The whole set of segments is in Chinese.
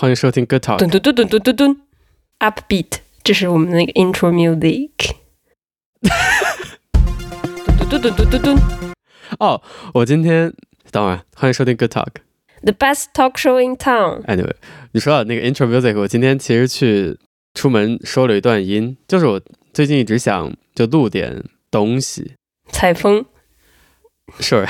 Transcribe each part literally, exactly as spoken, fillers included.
歡迎收聽 Good Talk。 噔噔噔噔噔噔噔 ，Upbeat， 這是我們那個 intro music。噔噔噔噔噔噔。 哦，我今天等會兒，歡迎收聽 Good Talk。The best talk show in town。 Anyway， 你說到那個 intro music， 我今天其實去出門收了一段音，就是我最近一直想就錄點東西。 採風。 Sure。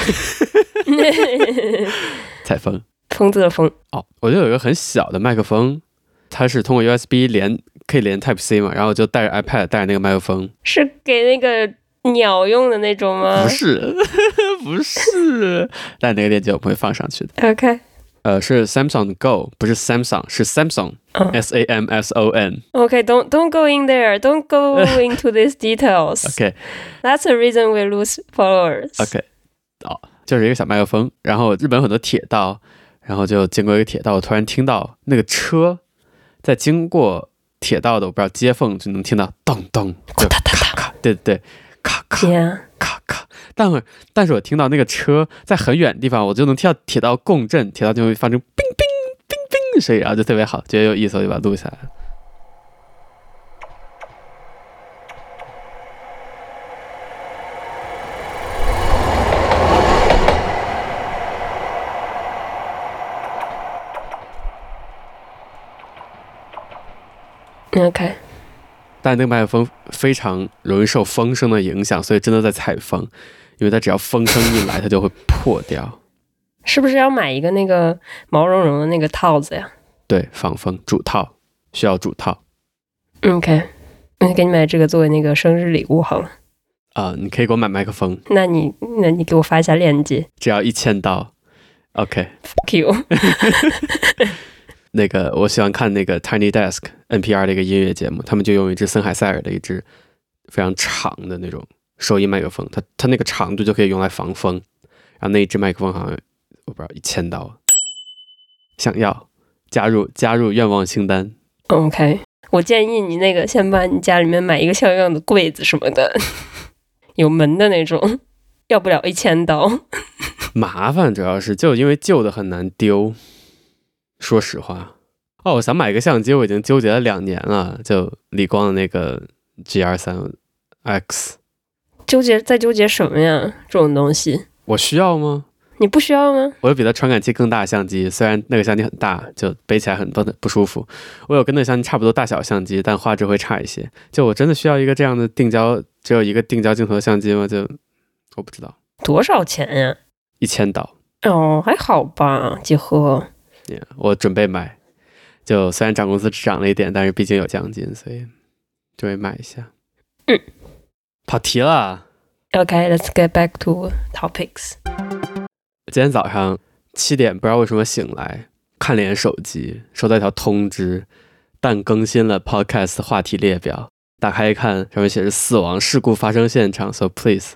採風。 瘋子的瘋哦，我就有一個很小的麥克風，它是通過 U S B 連，可以連 Type C 嘛，然後我就帶着 iPad 帶着那個麥克風， 是給那個鳥用的那種嗎？ 不是，不是，但那個鏈接我不會放上去的。 OK， 呃，是 Samsung Go， 不是 Samsung， 是 Samsung、oh. S A M S O N。 OK， don't don't go in there， don't go into these details。OK，that's the reason we lose followers。 OK， 哦，就是一個小麥克風，然後日本有很多鐵道。然後就經過一個鐵道，我突然聽到那個車在經過鐵道的，我不知道接縫就能聽到咚咚，就咔咔，對對對，咔咔咔咔。但是但是我聽到那個車在很遠的地方，我就能聽到鐵道共振，鐵道就會發出冰冰冰冰的聲音，然後就特別好，覺得有意思，我就把它錄下來了。 OK， 但那個麥克風非常容易受風聲的影響，所以真的在採風，因為它只要風聲一來，它就會破掉。 是不是要買一個那個毛茸茸的那個套子呀？ 對，防風主套需要主套。 OK， 那給你買這個作為那個生日禮物好了。 啊、呃，你可以給我買麥克風。 那你那你給我發一下鏈接。 只要一千刀。OK。Fuck you。 那個我喜歡看那個 Tiny Desk N P R 的一個音樂節目，他們就用一支森海塞爾的一支非常長的那種收音麥克風，它它那個長度就可以用來防風，然後那一支麥克風好像我不知道一千刀，想要加入加入願望清單。 OK， 我建議你那個先把你家裡面買一個像樣的櫃子什麼的，有門的那種，要不了一千刀。 麻煩主要是就因為舊的很難丟。說實話，哦，我想買一個相機，我已經糾結了兩年了，就理光的那個 G R 三 X。 糾結在糾結什麼呀？這種東西，我需要嗎？ 你不需要嗎？ 我有比它傳感器更大的相機，雖然那個相機很大，就背起來很不不舒服。我有跟那個相機差不多大小的相機，但畫質會差一些。就我真的需要一個這樣的定焦，只有一個定焦鏡頭的相機嗎？就我不知道。 多少錢呀？ 一千刀。 哦，還好吧，幾何。 Yeah, 我準備買，就雖然漲工資只漲了一點，但是畢竟有獎金，所以準備買一下。嗯，跑題了。 Okay, let's get back to topics. 今天早上七點，不知道為什麼醒來，看了眼手機，收到一條通知，但更新了 podcast 話題列表。打開一看，上面寫着死亡事故發生現場 ，so please。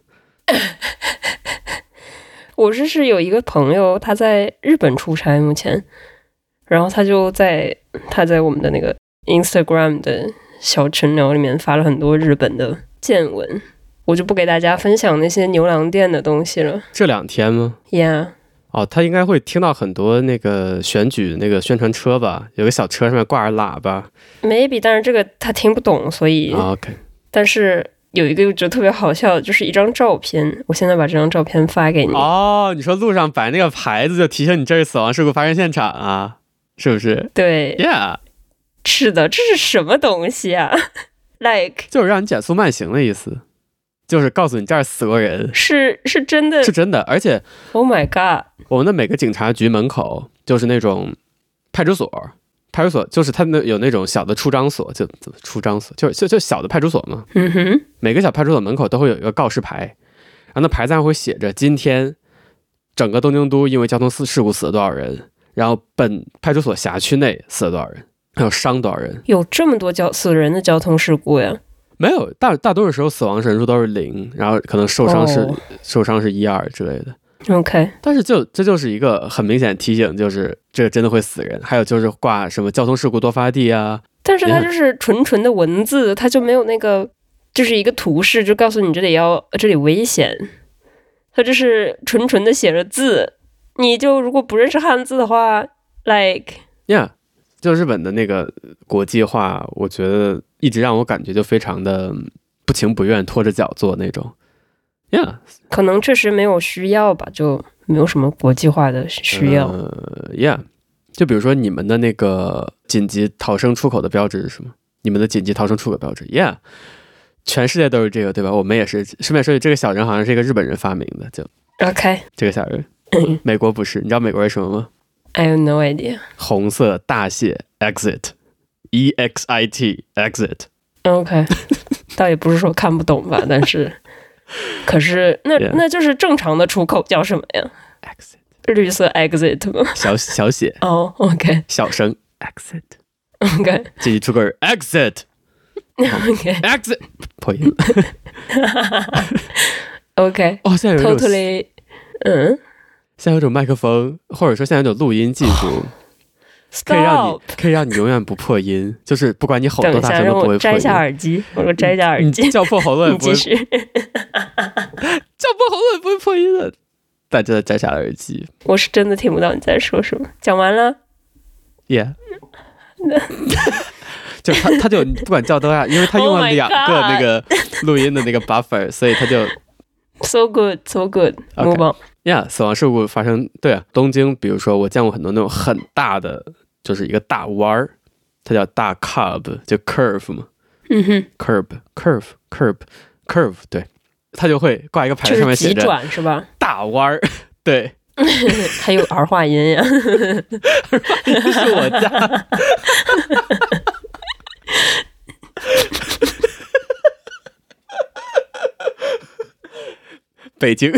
我是是有一個朋友，他在日本出差目前，然後他就在他在我們的那個 Instagram 的小群聊裡面發了很多日本的見聞，我就不給大家分享那些牛郎店的東西了。 這兩天嗎 ？Yeah。 哦，他應該會聽到很多那個選舉那個宣傳車吧，有個小車上面掛着喇叭。 Maybe， 但是這個他聽不懂，所以。 Oh, OK。但是。有一個就特別好笑，就是一張照片，我現在把這張照片發給你。 哦，你說路上擺那個牌子就提醒你這是死亡事故發生現場啊，是不是？ 對 ，Yeah， 是的，這是什麼東西啊 ？Like 就是讓你減速慢行的意思，就是告訴你這兒死過人， 是是真的， 是真的，而且 ，Oh my God， 我們的每個警察局門口就是那種派出所。派出所就是它那有那種小的出張所，就怎麼出張所，就就就小的派出所嘛。 嗯哼， 每個小派出所門口都會有一個告示牌，然後那牌子上會寫着今天整個東京都因為交通事故死了多少人，然後本派出所轄區內死了多少人，還有傷多少人。 有這麼多交死人的交通事故呀？ 沒有，大大多數時候死亡人數都是零，然後可能受傷是、oh. 受傷是一二之類的。 OK， 但是就這就是一個很明顯的提醒，就是這個真的會死人。還有就是掛什麼交通事故多發地啊， 但是它就是純純的文字，它就沒有那個就是一個圖示，就告訴你這裡要這裡危險。它就是純純的寫着字，你就如果不認識漢字的話 ，like yeah， 就日本的那個國際化，我覺得一直讓我感覺就非常的不情不願，拖着腳做那種。Yeah， 可能確實沒有需要吧，就沒有什麼國際化的需要。 呃、yeah， 就比如說你們的那個緊急逃生出口的標誌是什麼？你們的緊急逃生出口標誌 ，Yeah， 全世界都是這個，對吧？我們也是。順便說句，這個小人好像是一個日本人發明的，就 OK， 這個小人，美國不是。你知道美國是什麼嗎？ I have no idea。 紅色大寫 exit，E X I T，exit。OK， 倒也不是說看不懂吧，但是，可是那 yeah. 那就是正常的出口叫什麼呀 ？exit， 綠色 exit 嗎？ 小小寫哦、oh, OK， 小聲 exit。OK， 緊急出口 exit。OK， exit 破音。 OK， 哦，現在有一種 totally， 嗯， 現在有一種麥克風，或者說現在有一種錄音技術。可以讓你可以讓你永遠不破音，就是不管你吼多大聲都不會破音。 摘下耳機，我說摘下耳機， 叫破喉嚨也不会，叫破喉嚨也不會破音的。但真的摘下了耳機， 我是真的聽不到你在說什麼。講完了 ，Yeah， 就他他就不管叫多大，因為他用了兩個那個錄音的那個 buffer， 所以他就 so good so good。 move on。Yeah， 死亡事故發生，對啊，東京，比如說我見過很多那種很大的。就是一個大彎兒，它叫大 curve， 就 curve 嘛， 嗯哼 ，curve curve curve curve， 對，它就會掛一個牌子，上面寫着轉是吧？ 大彎兒，對， 還有兒化音呀， 兒化音是我家，北京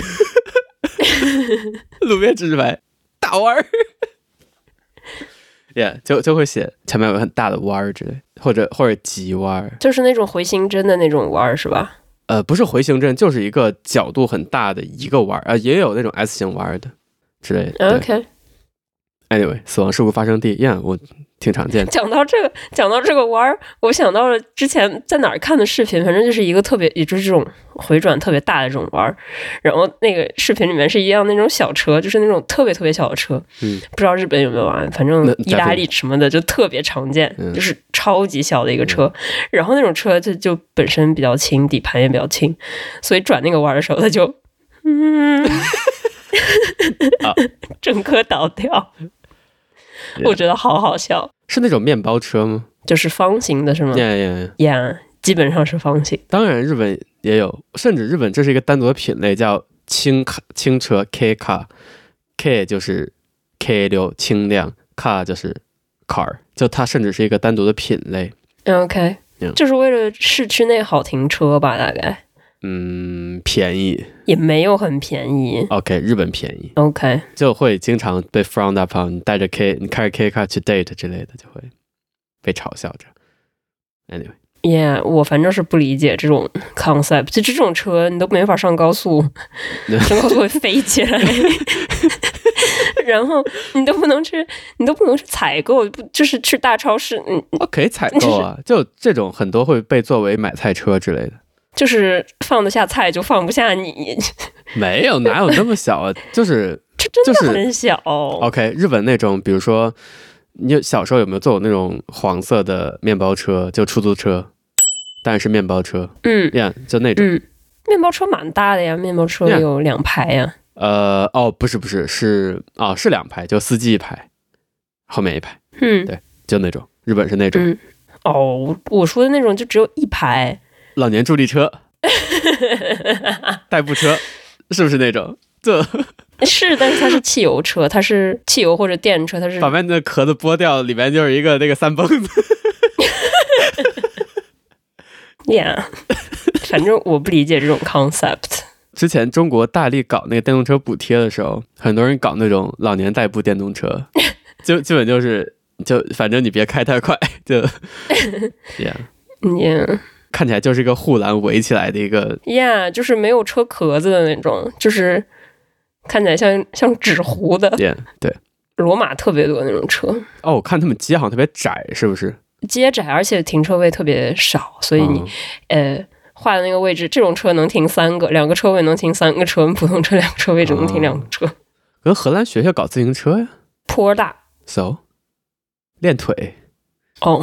路邊指示牌，大彎兒。Yeah， 就就會寫前面有個很大的彎兒之類，或者或者急彎， 就是那種回形針的那種彎是吧？ 呃，不是回形針，就是一個角度很大的一個彎啊、呃，也有那種 S 型彎的之類的。OK。Anyway， 死亡事故發生地，Yeah， 我挺常見的。 講到這個，講到這個彎，我想到了之前在哪兒看的視頻，反正就是一個特別，也就是這種回轉特別大的這種彎，然後那個視頻裡面是一輛那種小車，就是那種特別特別小的車，嗯，不知道日本有沒有啊？反正意大利什麼的就特別常見，就是超級小的一個車，嗯、然後那種車就就本身比較輕，底盤也比較輕，所以轉那個彎的時候，它就嗯，整顆倒掉。我覺得好好笑， 是那種面包車嗎？ 就是方形的是嗎？ Yeah, yeah, yeah. 基本上是方形。 當然日本也有，甚至日本這是一個單獨的品類，叫輕卡輕車 K car， K 就是 K 流輕量， car 就是 car， 就它甚至是一個單獨的品類。 OK， yeah. 就是為了市區內好停車吧，大概。 嗯，便宜也沒有很便宜。 OK， 日本便宜。 OK， 就會經常被 frowned upon， 你帶着 K， 你開着 K car 去 date 之類的，就會被嘲笑着。Anyway，Yeah， 我反正是不理解這種 concept， 就這種車你都沒法上高速，上高速會飛起來，然後你都不能去，你都不能去採購，就是去大超市，嗯， 可以採購啊，就這種很多會被作為買菜車之類的。 就是放得下菜就放不下你， 沒有，哪有那麼小啊？就是這真的很小。就是、 OK， 日本那種，比如說你小時候有沒有坐過那種黃色的面包車，就出租車，但是面包車，嗯，呀、yeah, 就那種、 嗯，面包車蠻大的呀，面包車有兩排呀。 Yeah. 呃，哦，不是不是是哦是兩排，就司機一排，後面一排，嗯，對，就那種，日本是那種。 嗯、哦，我說的那種就只有一排。 老年助力車，代步車，是不是那種？這是，但是它是汽油車，它是汽油或者電車，它是把外面的殼子剝掉，裡面就是一個那個三蹦子。 Yeah， 反正我不理解這種 concept。 之前中國大力搞那個電動車補貼的時候，很多人搞那種老年代步電動車，就基本就是就反正你別開太快，就 Yeah，Yeah。 看起來就是一個護欄圍起來的一個 ，Yeah， 就是沒有車殼子的那種，就是看起來像像紙糊的 ，Yeah， 對， 羅馬特別多那種車。 哦，我看他們街好像特別窄，是不是？ 街窄，而且停車位特別少，所以你、嗯、呃畫的那個位置，這種車能停三個，兩個車位能停三個車，普通車兩個車位只能停兩個車。 跟荷蘭學學搞自行車呀， 坡大 ，so 練腿。 哦、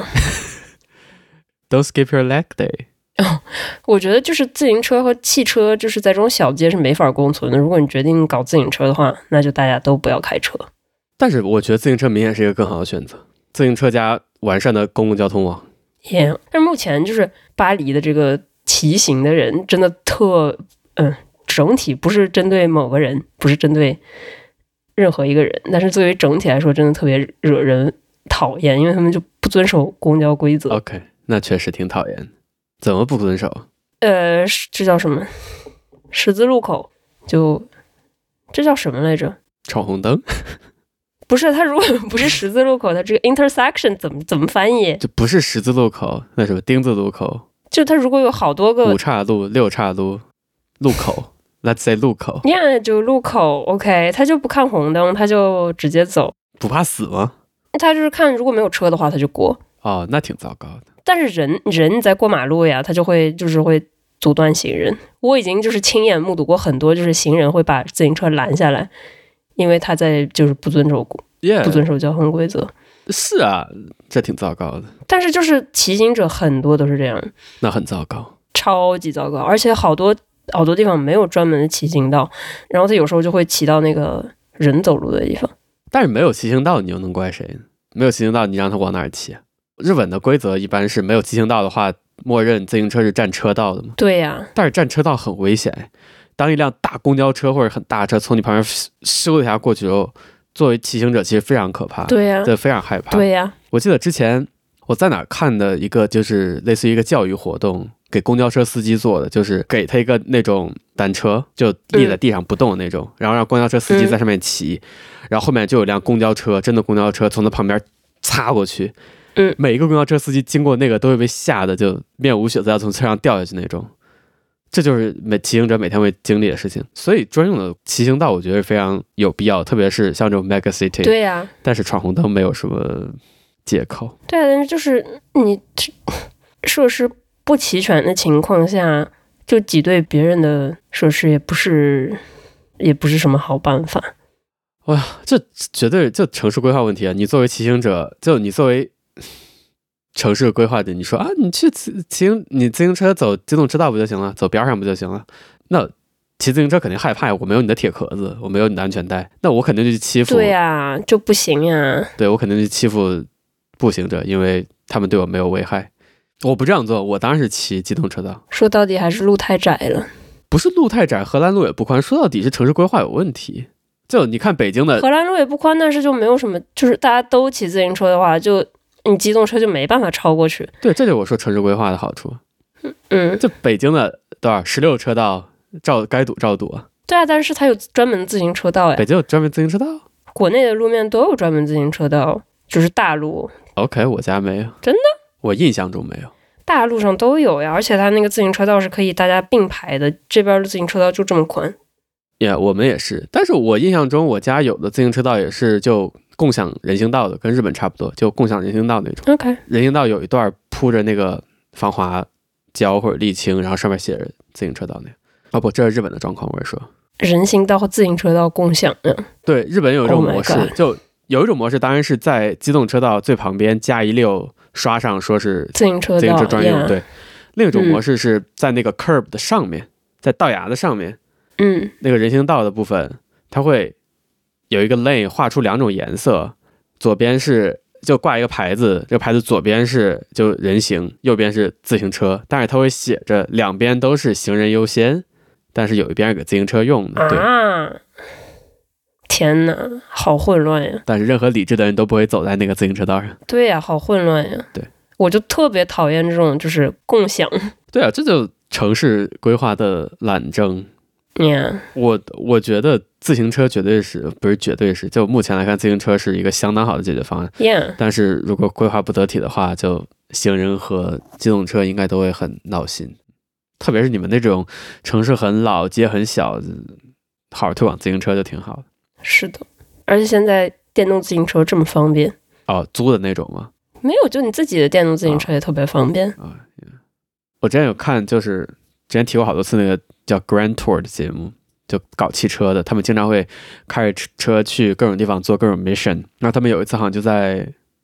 ，Don't skip your leg day。 哦，我覺得就是自行車和汽車，就是在这種小街是沒法共存的。如果你決定搞自行車的話，那就大家都不要開車。 但是我覺得自行車明顯是一個更好的選擇，自行車加完善的公共交通網。 Yeah， 但是目前就是巴黎的這個騎行的人真的特，嗯，整體不是針對某個人，不是針對任何一個人，但是作為整體來說，真的特別惹人討厭，因為他們就不遵守公交規則。 OK， 那確實挺討厭。怎麼不遵守？ 呃，這叫什麼？十字路口就這叫什麼來着？ 闖紅燈？ 不是，它如果不是十字路口，它這個 intersection 怎麼怎麼翻譯？ 就不是十字路口，那什麼丁字路口？ 就它如果有好多個五岔路、六岔路路口，Let's say 路口。 Yeah， 就路口 ，OK， 他就不看紅燈，他就直接走。 不怕死嗎？ 他就是看如果沒有車的話，他就過。 哦，那挺糟糕的。 但是人人在過馬路呀，他就會就是會阻斷行人。我已經就是親眼目睹過很多，就是行人會把自行車攔下來，因為他在就是不遵守、yeah, 不遵守交通規則。 是啊，這挺糟糕的。 但是就是騎行者很多都是這樣， 那很糟糕， 超級糟糕。而且好多好多地方沒有專門的騎行道，然後他有時候就會騎到那個人走路的地方。 但是沒有騎行道，你又能怪誰呢？沒有騎行道，你讓他往哪兒騎啊？日本的規則一般是沒有騎行道的話，默認自行車是佔車道的嘛？ 對呀、啊， 但是佔車道很危險。當一輛大公交車或者很大的車從你旁邊咻一下過去之後，作為騎行者其實非常可怕。 對呀、啊， 對，非常害怕。 對呀、啊， 我記得之前我在哪兒看的一個就是類似於一個教育活動，給公交車司機做的，就是給他一個那種單車，就立在地上不動的那種，嗯、然後讓公交車司機在上面騎、嗯，然後後面就有輛公交車，真的公交車從他旁邊擦過去。嗯，每一個公交車司機經過那個都會被嚇得就面無血色，要從車上掉下去那種。這就是每騎行者每天會經歷的事情。所以專用的騎行道我覺得是非常有必要，特別是像這種 mega city。 對呀、啊，但是闖紅燈沒有什麼借口。 對啊，但是就是你設施不齊全的情況下，就擠兌別人的設施也不是也不是什麼好辦法。 哇，這絕對就城市規劃問題啊！你作為騎行者，就你作為城市規劃的，你說啊，你去騎行，你自行車走機動車道不就行了，走邊上不就行了？那騎自行車肯定害怕，我沒有你的鐵殼子，我沒有你的安全帶，那我肯定就去欺負。 對呀、啊，就不行呀、啊。 對，我肯定去欺負步行者，因為他們對我沒有危害。我不這樣做，我當然是騎機動車道。 說到底還是路太窄了。 不是路太窄，荷蘭路也不寬，說到底是城市規劃有問題。就你看北京的荷蘭路也不寬，但是就沒有什麼，就是大家都騎自行車的話，就你機動車就沒辦法超過去。 對，這就是我說城市規劃的好處。 嗯， 就北京的多少十六車道，照該堵照堵啊。 對啊，但是它有專門自行車道呀。 北京有專門自行車道？ 國內的路面都有專門自行車道，就是大路。 OK， 我家沒有。 真的？ 我印象中沒有。 大路上都有呀，而且它那個自行車道是可以大家並排的，這邊的自行車道就這麼寬。 Yeah， 我們也是，但是我印象中我家有的自行車道也是就共享人行道的，跟日本差不多，就共享人行道那種。 OK， 人行道有一段鋪着那個防滑膠或者瀝青，然後上面寫着自行車道那個。哦不，這是日本的狀況，我也說。 人行道和自行車道共享的。 對，日本有一種模式， Oh 就有一種模式，當然是在機動車道最旁邊加一溜刷上，說是自行車道， 自行車專用。 Yeah. 對，另一種模式是在那個 curb 的上面，嗯、在道牙的上面。 嗯， 那個人行道的部分，它會有一個 lane 畫出兩種顏色，左邊是就掛一個牌子，這個牌子左邊是就人行，右邊是自行車，但是它會寫着兩邊都是行人優先，但是有一邊是給自行車用的。對啊，天哪，好混亂呀！ 但是任何理智的人都不會走在那個自行車道上。 對呀，好混亂呀。 對， 我就特別討厭這種就是共享。 對啊，這就城市規劃的懶政。 Yeah. 我我覺得自行車絕對是不是絕對是，就目前來看，自行車是一個相當好的解決方案。 Yeah. 但是如果規劃不得體的話，就行人和機動車應該都會很鬧心。特別是你們那種城市很老、街很小，好好推廣自行車就挺好的。 是的，而且現在電動自行車這麼方便。 哦，租的那種嗎？ 沒有，就你自己的電動自行車也特別方便。 啊、哦哦 yeah. 我之前有看，就是之前提過好多次那個叫 Grand Tour 的節目，就搞汽車的，他們經常會開着車去各種地方做各種 mission。然後他們有一次好像就在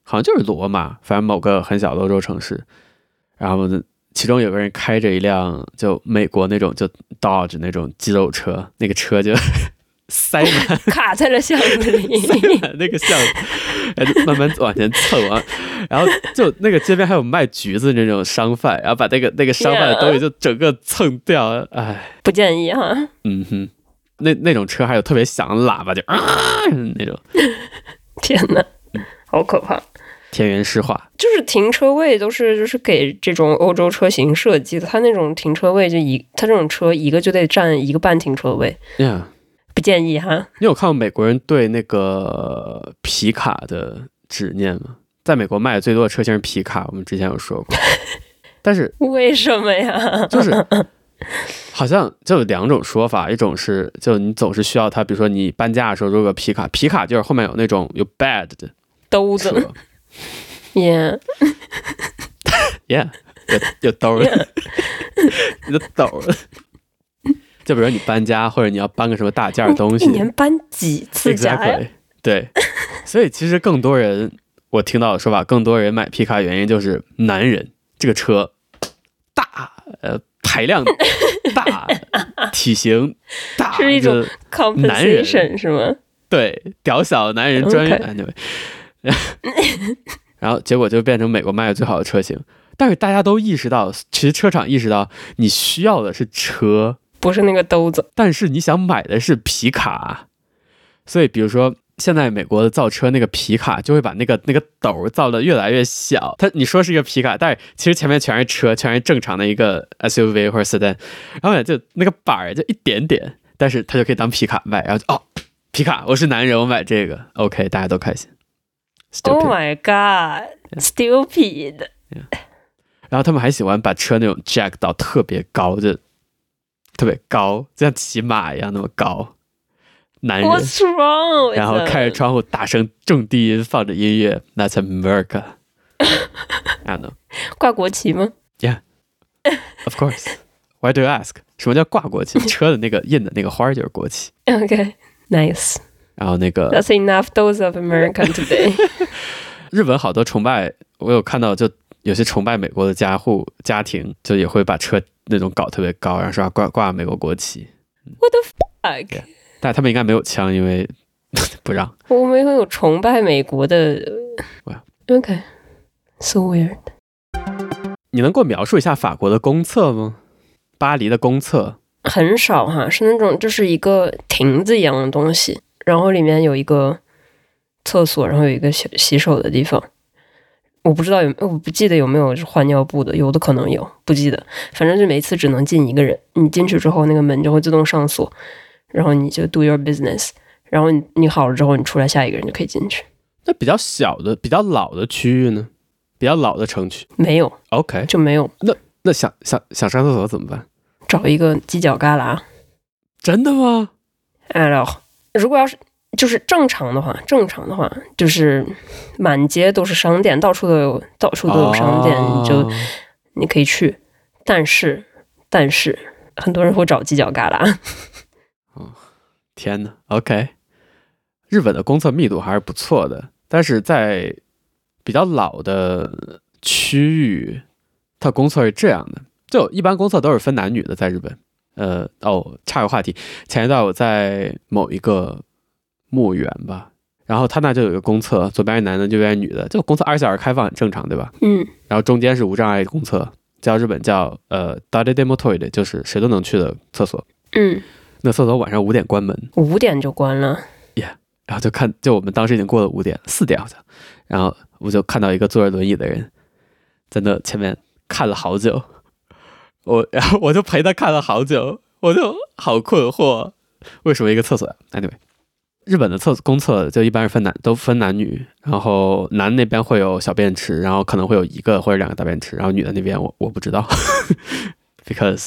好像就是羅馬，反正某個很小的歐洲城市。然後呢，其中有個人開着一輛就美國那種就 Dodge 那種肌肉車，那個車就塞滿卡在了巷子裡， 塞滿那個巷子，然後就慢慢往前蹭啊。然後就那個街邊還有賣橘子那種商販，然後把那個那個商販的東西就整個蹭掉，哎， 不建議哈。 嗯哼，那那種車還有特別響的喇叭，就啊那種， 天哪，好可怕！ 田園詩畫， 就是停車位都是就是給這種歐洲車型設計的，它那種停車位就一，它這種車一個就得占一個半停車位。 Yeah. 不建議哈。 你有看過美國人對那個皮卡的執念嗎？在美國賣的最多的車型是皮卡，我們之前有說過。但是為什麼呀？ 就是好像就有兩種說法，一種是就你總是需要它，比如說你搬家的時候，如果皮卡，皮卡就是後面有那種有 bed 的兜子。Yeah， yeah， 有有兜儿， yeah. 你的兜兒。就比如你搬家，或者你要搬個什麼大件的東西， 一年搬幾次家呀？ Exactly. 对，所以其實更多人，我聽到的說法，更多人買皮卡原因就是男人這個車大，呃，排量大，體型大， 是一種 compensation 是嗎？ 對，屌小男人專用。Anyway， 然後結果就變成美國賣的最好的車型，但是大家都意識到，其實車廠意識到你需要的是車。 不是那個兜子， 但是你想買的是皮卡，所以比如說現在美國的造車那個皮卡就會把那個那個斗造得越來越小。它你說是一個皮卡，但是其實前面全是車，全是正常的一個 S U V 或者 sedan， 然後就那個板就一點點，但是它就可以當皮卡賣，然後就哦，皮卡，我是男人，我買這個 ，OK， 大家都開心。 Oh my god，stupid。Yeah. Yeah. 然後他們還喜歡把車那種 jack 到特別高，就特別高，就像騎馬一樣那麼高。男人 What's wrong？ 然後開着窗戶，大聲重低音放着音樂。That's America。I don't know。 掛國旗嗎 ？Yeah，of course。Why do you ask？ 什麼叫掛國旗？車的那個印的那個花就是國旗。 OK，nice。 然後那個 That's enough dose of America today。 日本好多崇拜，我有看到，就有些崇拜美國的家戶家庭，就也會把車那種搞特別高，然後說掛掛美國國旗。 What the fuck？、Yeah. 但他們應該沒有槍，因為不讓。 我們會有崇拜美國的。OK，so weird。 你能給我描述一下法國的公廁嗎？巴黎的公廁很少哈，是那種就是一個亭子一樣的東西，然後裡面有一個廁所，然後有一個洗洗手的地方。我不知道有，我不記得有沒有換尿布的，有的可能有，不記得。反正就每次只能進一個人，你進去之後那個門就會自動上鎖，然後你就 do your business， 然後你你好了之後，你出來下一個人就可以進去。 那比較小的、比較老的區域呢？比較老的城區沒有 ，OK， 就沒有。 那那想想想上廁所怎麼辦？ 找一個犄角旮旯。 真的嗎？ 哎呦，如果要是就是正常的話，正常的話就是滿街都是商店，到處都有，到處都有商店，哦、你就你可以去。但是但是很多人會找犄角旮旯。 哦，天哪 ，OK。日本的公廁密度還是不錯的，但是在比較老的區域，它公廁是這樣的，就一般公廁都是分男女的，在日本。呃，哦，岔個話題，前一段我在某一個墓園吧，然後他那就有一個公廁，左邊是男的，右邊是女的，這個公廁二十四小時開放很正常，對吧？ 嗯。 然後中間是無障礙公廁，叫日本叫呃 誰でもトイレ，就是誰都能去的廁所。 嗯。那廁所晚上五點關門。 五點就關了。 Yeah。然後就看，就我們當時已經過了五點，四點好像，然後我就看到一個坐着輪椅的人在那前面看了好久，我然後我就陪他看了好久，我就好困惑，為什麼一個廁所呀 ？Anyway， 日本的廁公廁就一般是分男都分男女，然後男那邊會有小便池，然後可能會有一個或者兩個大便池，然後女的那邊我我不知道，because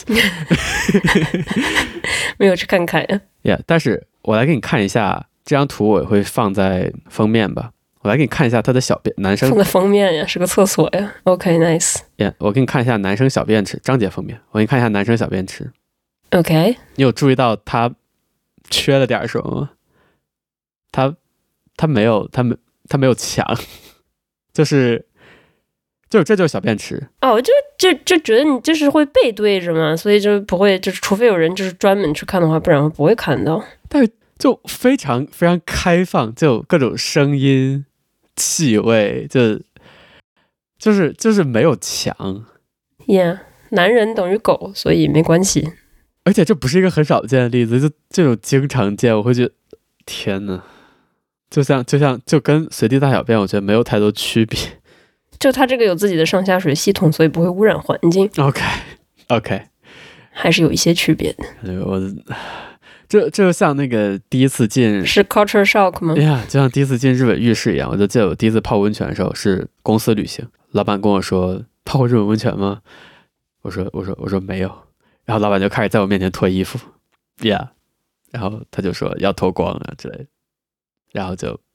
沒有去看看呀。 Yeah， 但是我來給你看一下。這張圖我也會放在封面吧，我來給你看一下他的小便，男生放在封面呀，是個廁所呀。OK，nice。Yeah， 我給你看一下男生小便池，章節封面，我給你看一下男生小便池。 OK， 你有注意到他缺了點什麼嗎？他他沒有，他沒他沒有牆， 就是就是這就是小便池哦，就就就覺得你就是會背對着嘛，所以就不會，就是除非有人就是專門去看的話，不然不會看到。 但是就非常非常開放，就各種聲音、氣味，就就是就是沒有牆。Yeah， 男人等於狗，所以沒關係。 而且這不是一個很少見的例子，就這種經常見，我會覺得天哪，就像就像就跟隨地大小便，我覺得沒有太多區別。 就它這個有自己的上下水系統，所以不會污染環境。 OK OK， 還是有一些區別的。 我這這就像那個第一次進是 culture shock 嗎？ 呀， yeah, 就像第一次進日本浴室一樣。我就記得我第一次泡溫泉的時候是公司旅行，老闆跟我說泡過日本溫泉嗎？我說我說我說沒有。然後老闆就開始在我面前脫衣服 ，Yeah， 然後他就說要脫光啊之類的，然後就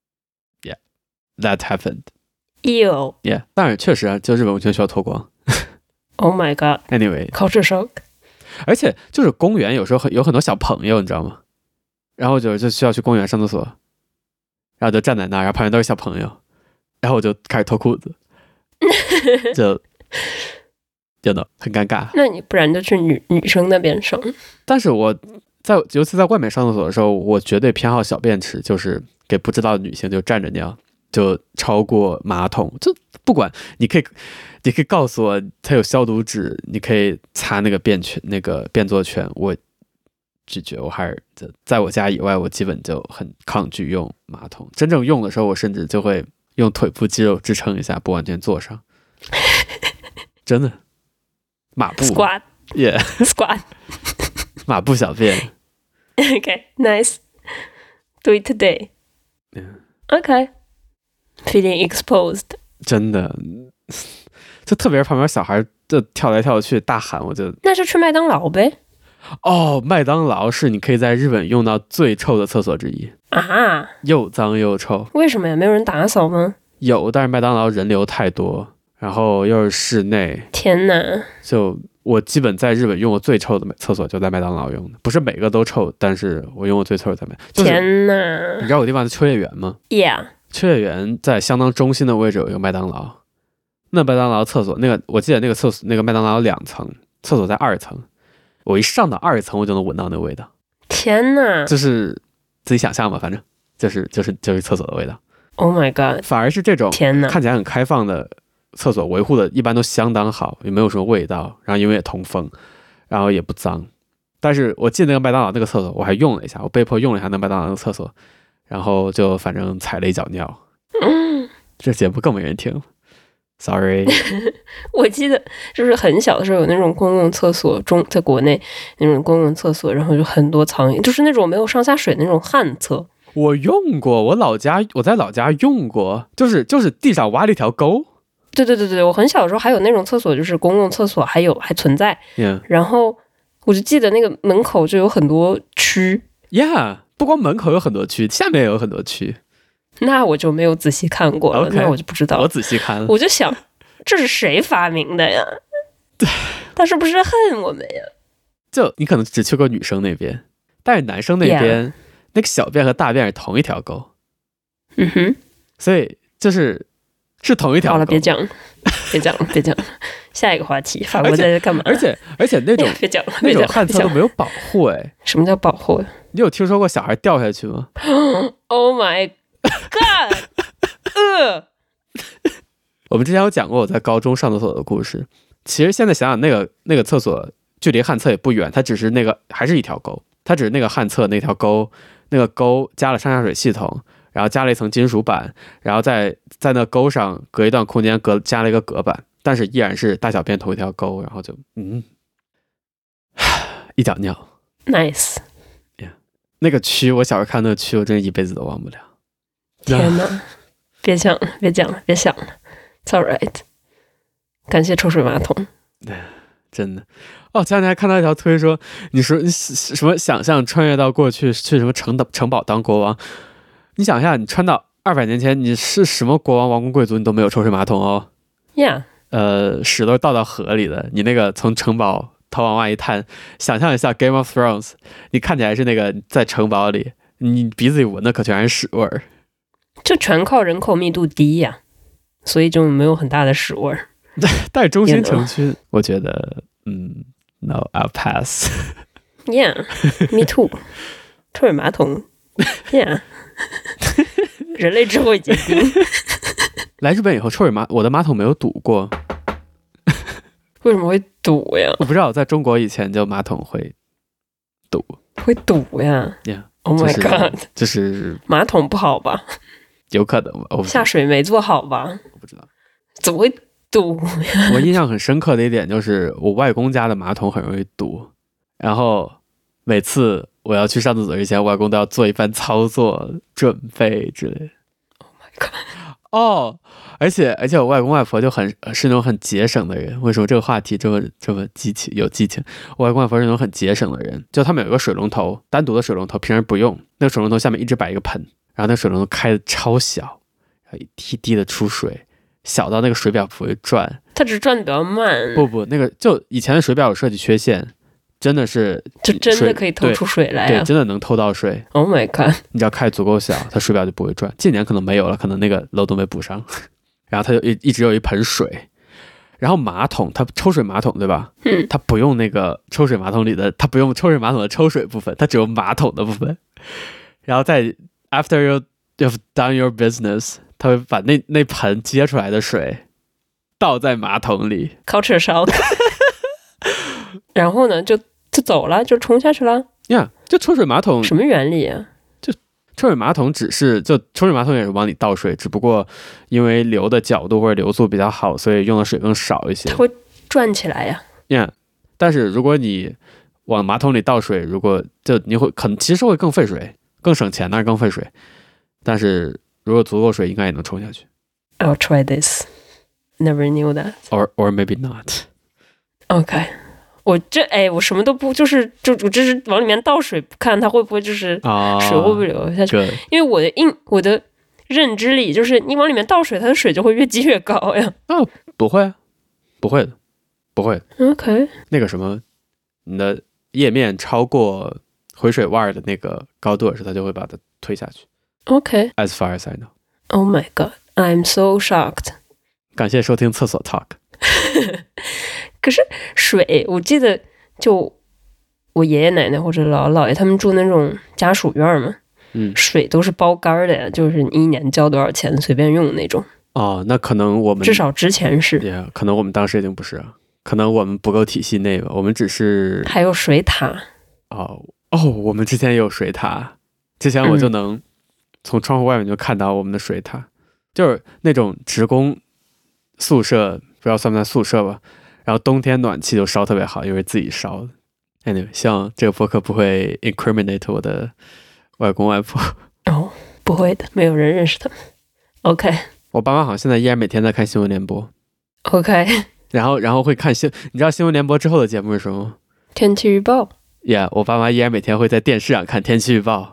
Yeah，that happened。Ew。Yeah， 當然確實啊，就日本溫泉需要脫光。 Oh my god。Anyway，culture shock。 而且就是公園有時候很有很多小朋友，你知道嗎？然後就就需要去公園上廁所，然後就站在那兒，然後旁邊都是小朋友，然後我就開始脫褲子，就。真的很尷尬。那你不然就去女女生那邊上。 但是我在尤其在外面上廁所的時候，我絕對偏好小便池，就是給不知道的女性就站着尿，就超過馬桶。就不管你可以，你可以告訴我它有消毒紙，你可以擦那個便圈那個便座圈，我拒絕。我還是在我家以外，我基本就很抗拒用馬桶。真正用的時候，我甚至就會用腿部肌肉支撐一下，不完全坐上。真的。馬步 Squat Yeah Squat 馬步小便 Okay, nice. Do it today. Yeah. Okay. Feeling exposed. 真的就特別是旁邊小孩就跳來跳去大喊，我就那就去麥當勞唄。 哦，麥當勞是你可以在日本用到最臭的廁所之一啊， 又髒又臭。為什麼呀？沒有人打掃嗎？ 有，但是麥當勞人流太多，然後又是室內， 天哪！ 就我基本在日本用過最臭的廁所就在麥當勞用的，不是每個都臭，但是我用過最臭的在麥當勞。 天哪！ 你知道有地方是秋葉原嗎 ？Yeah， 秋葉原在相當中心的位置有一個麥當勞，那麥當勞廁所那個我記得那個廁所那個麥當勞有兩層，廁所在二層，我一上到二層我就能聞到那個味道。 天哪！ 就是自己想象吧，反正就是就是就是廁所的味道。 Oh my god！ 反而是這種天哪， 看起來很開放的廁所維護的一般都相當好，也沒有什麼味道，然後因為也通風，然後也不髒。但是我進那個麥當勞那個廁所，我還用了一下，我被迫用了一下那麥當勞那個廁所，然後就反正踩了一腳尿。嗯，這節目更沒人聽 ，sorry。 我記得就是很小的時候有那種公共廁所，中在國內那種公共廁所，然後就很多蒼蠅，就是那種沒有上下水的那種旱廁。 我用過，我老家我在老家用過，就是就是地上挖了一條溝。 對對對對，我很小的時候還有那種廁所，就是公共廁所，還有還存在。 Yeah. 然後我就記得那個門口就有很多蛆。 Yeah， 不光門口有很多蛆，下面也有很多蛆。 那我就沒有仔細看過了， okay, 那我就不知道。 我仔細看了， 我就想，這是誰發明的呀？他是不是恨我們呀？ 就你可能只去過女生那邊，但是男生那邊。Yeah.那個小便和大便是同一條溝， 嗯哼， 所以就是是同一條溝。好了，別講了，別講了，別講了，下一個話題，法國在這幹嘛？ 而且而且那種別講了， 那種旱廁都沒有保護哎、欸。 什麼叫保護呀？ 你有聽說過小孩掉下去嗎 ？Oh my god！ 呃， 我們之前有講過我在高中上廁所的故事。其實現在想想，那個那個廁所距離旱廁也不遠，它只是那個還是一條溝，它只是那個旱廁那條溝。那個溝加了上下水系統，然後加了一層金屬板，然後在在那溝上隔一段空間隔加了一個隔板，但是依然是大小便同一條溝，然後就嗯，一腳尿 ，nice， yeah. 那個蛆，我小時候看那個蛆，我真的一輩子都忘不了。 天哪，別講了，別講了，別想了 ，It's all right。感謝抽水馬桶。 真的哦，前兩天還看到一條推說，你說你什麼想象穿越到過去去什麼城的城堡當國王，你想一下，你穿到二百年前，你是什麼國王王公貴族，你都沒有抽水馬桶哦。 Yeah， 呃，屎都倒到河裡的，你那個從城堡頭往外一探，想象一下 Game of Thrones， 你看起來是那個在城堡裡，你鼻子裡聞的可全是屎味兒， 就全靠人口密度低呀、 所以就沒有很大的屎味兒。 但中心城區，我覺得，嗯 ，No, I'll pass. Yeah, me too. 抽水馬桶 ，Yeah. 人類智慧結晶。 來日本以後，抽水馬我的馬桶沒有堵過。 為什麼會堵呀？ 我不知道，在中國以前就馬桶會堵， 會堵呀。 Yeah. Oh my god！ 這是馬桶不好吧？ 有可能吧？ 下水沒做好吧？ 我不知道， 怎麼會堵呀？ 我印象很深刻的一點就是，我外公家的馬桶很容易堵，然後每次我要去上廁所之前，我外公都要做一番操作準備之類的。 Oh my god！ 哦，而且而且我外公外婆就很是那種很節省的人。為什麼這個話題這麼這麼激情有激情？我外公外婆是那種很節省的人，就他們有一個水龍頭，單獨的水龍頭，平時不用。那個水龍頭下面一直擺一個盆，然後那個水龍頭開的超小，然後一滴滴的出水，小到那個水表不會轉。 它只是轉的比較慢。 不不，那個就以前的水表有設計缺陷。真的是， 就真的可以透出水來、啊對，對，真的能透到水。 Oh my god！ 你只要開足夠小，它水表就不會轉。近年可能沒有了，可能那個漏洞沒補上。然後它就一一直有一盆水，然後馬桶它抽水馬桶對吧？ 嗯， 它不用那個抽水馬桶裡的，它不用抽水馬桶的抽水部分，它只有馬桶的部分。然後在 after you you've done your business， 它會把那那盆接出來的水倒在馬桶裡。 culture shock。然後呢，就。就走了，就沖下去了。 呀、yeah, ，就抽水馬桶什麼原理啊？ 就抽水馬桶只是就抽水馬桶也是往裡倒水，只不過因為流的角度或者流速比較好，所以用的水更少一些。 它会轉起來呀、啊。 呀、yeah, ，但是如果你往馬桶裡倒水，如果就你會可能其實會更費水，更省錢，但是更費水。但是如果足夠水，應該也能沖下去。 I'll try this. Never knew that. Or or maybe not. OK. 我這哎，我什麼都不，就是就我這是往裡面倒水，不看它會不會就是水會不會流下去？哦、因為我的印我的認知裡就是你往裡面倒水，它的水就會越積越高呀。 哦，不會，不會的，不會。 OK， 那個什麼，你的頁面超過回水襪的那個高度時，它就會把它推下去。 OK，as、 okay. far as I know. Oh my god, I'm so shocked. 感謝收聽廁所 Talk。 可是水，我記得就我爺爺奶奶或者姥姥姥爺他們住那種家屬院嘛，嗯，水都是包乾的呀，就是你一年交多少錢隨便用那種。 哦，那可能我們至少之前是， yeah, 可能我們當時已經不是了，可能我們不夠體系內吧，我們只是還有水塔。 哦哦，我們之前也有水塔，之前我就能從窗戶外面就看到我們的水塔，嗯、就是那種職工宿舍，不知道算不算宿舍吧。然後冬天暖氣就燒特別好，因為自己燒的。Anyway， 希望這個播客不會 incriminate 我的外公外婆。 哦，不會的，沒有人認識他們。OK， 我爸媽好像現在依然每天在看新聞聯播。 OK， 然後然後會看新，你知道新聞聯播之後的節目是什麼嗎？ 天氣預報。 Yeah， 我爸媽依然每天會在電視上看天氣預報。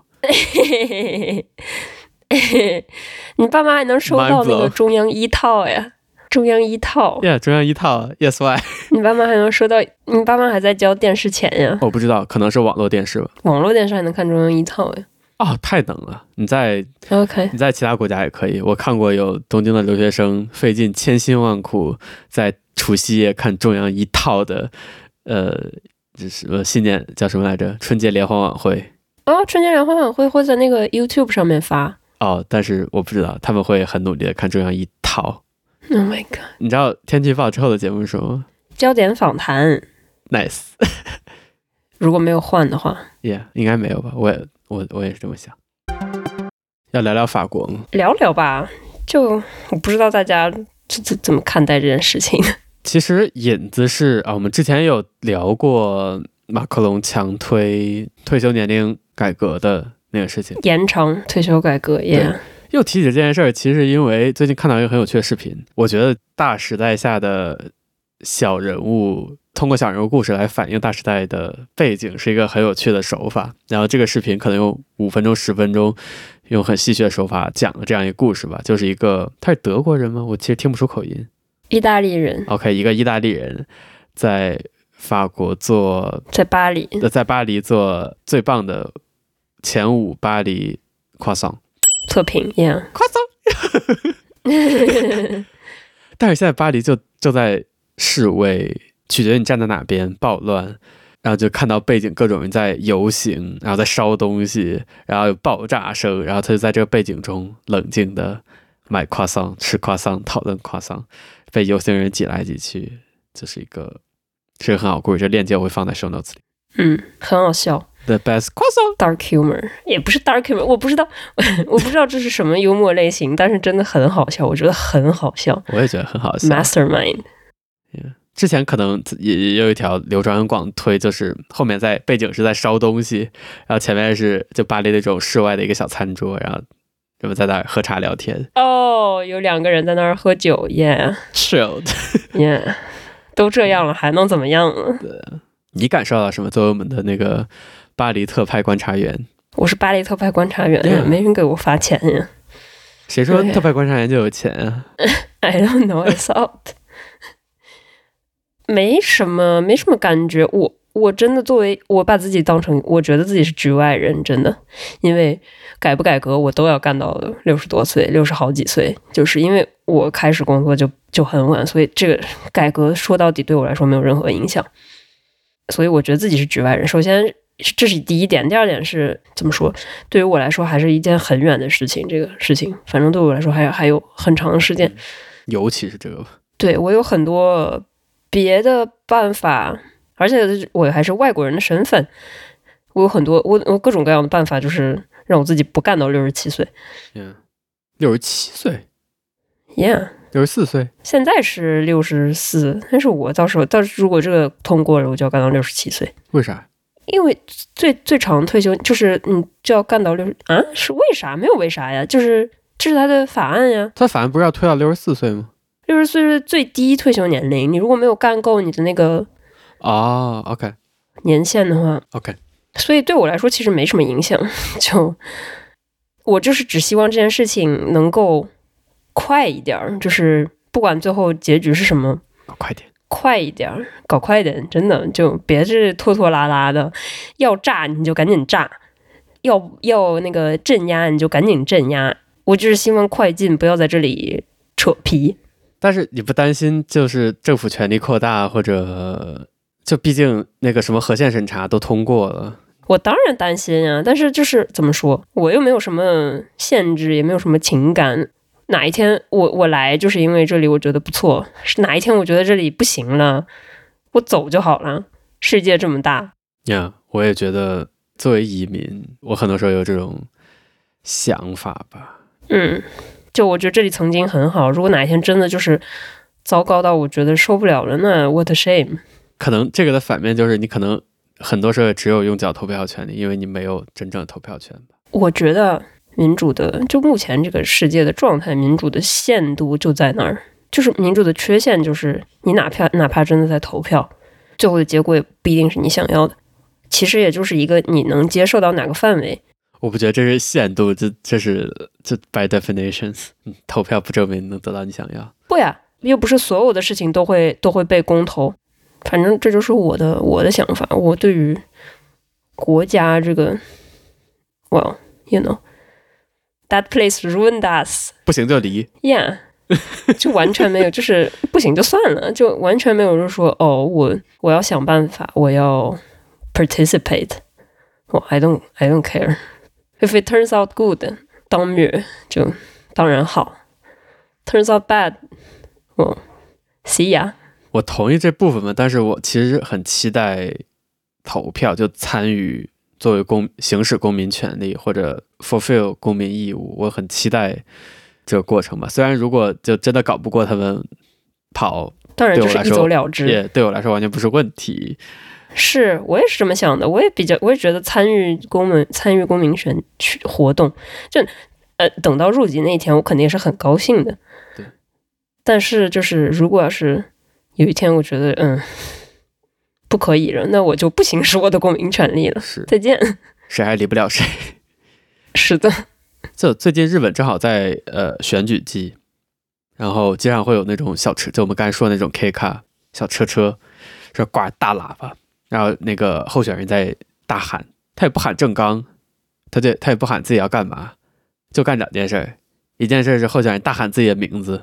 你爸媽還能收到那個中央一套呀？中央一套 ，Yeah， 中央一套 ，Yes why？ 你爸媽還能收到？你爸媽還在交電視錢呀？ 我不知道，可能是網絡電視吧。 網絡電視還能看中央一套呀？ 哦，太能了！你在 OK， 你在其他國家也可以。我看過有東京的留學生費盡千辛萬苦在除夕夜看中央一套的，呃，這是什麼新年叫什麼來着？春節聯歡晚會。 哦，春節聯歡晚會會在那個 YouTube 上面發。 哦，但是我不知道，他們會很努力的看中央一套。 Oh my god！ 你知道天氣預報之後的節目是什麼？ 焦點訪談。 Nice 。 如果沒有換的話 ，Yeah， 應該沒有吧？我也我我也是這麼想。要聊聊法國嗎？ 聊聊吧，就我不知道大家怎怎麼看待這件事情。 其實引子是啊，我們之前有聊過馬克龍強推退休年齡改革的那個事情， 延長退休改革也。Yeah. 又提起這件事兒，其實因為最近看到一個很有趣的視頻，我覺得大時代下的小人物通過小人物故事來反映大時代的背景是一個很有趣的手法。然後這個視頻可能用五分鐘、十分鐘，用很戲謔的手法講了這樣一個故事吧。就是一個他是德國人嗎？我其實聽不出口音。 意大利人。OK， 一個意大利人在法國做， 在巴黎， 在巴黎做最棒的前五巴黎croissant。 測評 ，Yeah， 誇張， 但是現在巴黎就就在示威，取決於你站在哪邊，暴亂。然後就看到背景各種人在遊行，然後在燒東西，然後有爆炸聲，然後他就在這個背景中冷靜的買croissant、吃croissant、討論croissant，被遊行人擠來擠去，這、就是一個是一個很好故事。這鏈接我會放在 show notes 裡。 嗯，很好笑。 The best croissant dark humor 也不是 dark humor， 我不知道，我不知道這是什麼幽默類型，但是真的很好笑，我覺得很好笑。 我也覺得很好笑。 Mastermind。Yeah. 之前可能也有一條流傳很廣推，就是後面在背景是在燒東西，然後前面是就巴黎那種室外的一個小餐桌，然後人們在那兒喝茶聊天。 哦、oh, ，有兩個人在那兒喝酒 ，Yeah，Chilled，Yeah， 都這樣了，還能怎麼樣呢？ 對，你感受到什麼？作為我們的那個巴黎特派觀察員， 我是巴黎特派觀察員， yeah. 沒人給我發錢呀。 誰說特派觀察員就有錢啊 ？I don't know, I thought。沒什麼，沒什麼感覺。我我真的作為我把自己當成，我覺得自己是局外人，真的。因為改不改革，我都要幹到六十多歲，六十好幾歲。就是因為我開始工作就就很晚，所以這個改革說到底對我來說沒有任何影響。所以我覺得自己是局外人。首先，這是第一點。第二點是怎麼說？對於我來說，還是一件很遠的事情。這個事情，反正對我來說還有還有很長的時間。 尤其是這個， 對，我有很多別的辦法，而且我還是外國人的身份，我有很多我我各種各樣的辦法，就是讓我自己不幹到六十七歲。 嗯，六十七歲 ，Yeah， 六十四歲， 現在是六十四，但是我到時候到時候如果這個通過了，我就要幹到六十七歲。 為啥？ 因為最最長退休就是你就要幹到六十啊？是為啥？沒有為啥呀，就是這是他的法案呀。 他法案不是要推到六十四歲嗎？ 六十歲是最低退休年齡，你如果沒有幹夠你的那個哦 ，OK 年限的話 ，OK， 所以對我來說其實沒什麼影響。就我就是只希望這件事情能夠快一點，就是不管最後結局是什麼， 搞快點， 快一點，搞快一點，真的就別是拖拖拉拉的。要炸你就趕緊炸，要要那個鎮壓你就趕緊鎮壓。我就是希望快進，不要在這裡扯皮。 但是你不擔心就是政府權力擴大，或者就畢竟那個什麼核限審查都通過了？ 我當然擔心啊，但是就是怎麼說，我又沒有什麼限制，也沒有什麼情感。哪一天我我來就是因為這裡我覺得不錯，哪一天我覺得這裡不行了，我走就好了。世界這麼大呀， yeah, 我也覺得作為移民，我很多時候有這種想法吧。 嗯。就我覺得這裡曾經很好，如果哪一天真的就是糟糕到我覺得受不了了，那 what a shame。 可能這個的反面就是你可能很多時候只有用腳投票權利，因為你沒有真正的投票權吧。 我覺得民主的，就目前這個世界的狀態，民主的限度就在那兒，就是民主的缺陷就是你哪怕哪怕真的在投票，最後的結果也不一定是你想要的，其實也就是一個你能接受到哪個範圍。 我不覺得這是限度，這這是這 by definitions，投票不證明能得到你想要。 不呀，又不是所有的事情都會都會被公投。反正這就是我的我的想法。我對於國家這個 ，well you know that place ruined us， 不行就離。 Yeah， 就完全沒有，就是不行就算了，就完全沒有就是說哦，我我要想辦法，我要 participate。哦 I don't I don't care。If it turns out good， 當然就當然好。Turns out bad， well see ya。 我同意這部分嘛，但是我其實很期待投票，就參與作為公行使公民權利或者 fulfill 公民義務，我很期待這個過程吧。雖然如果就真的搞不過他們跑， 當然就是一走了之， 也對我來說完全不是問題。 是我也是這麼想的，我也比較，我也覺得參與公民參與公民選活動，就呃等到入籍那一天，我肯定也是很高興的。 對， 但是就是如果要是有一天我覺得嗯不可以了，那我就不行使我的公民權利了。 是， 再見。 誰還離不了誰？ 是的。 就最近日本正好在呃選舉季，然後街上會有那種小車，就我們剛才說的那種 K 卡小車車，是掛大喇叭。然後那個候選人在大喊，他也不喊政綱，他就他也不喊自己要幹嘛，就幹兩件事。一件事是候選人大喊自己的名字，